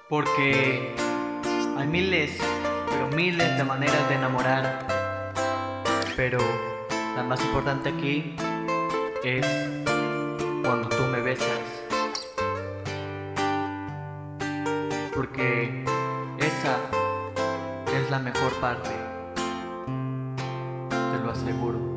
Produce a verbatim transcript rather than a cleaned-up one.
Porque hay miles, pero miles de maneras de enamorar. Pero la más importante aquí es cuando tú me besas. Porque esa es la mejor parte, te lo aseguro.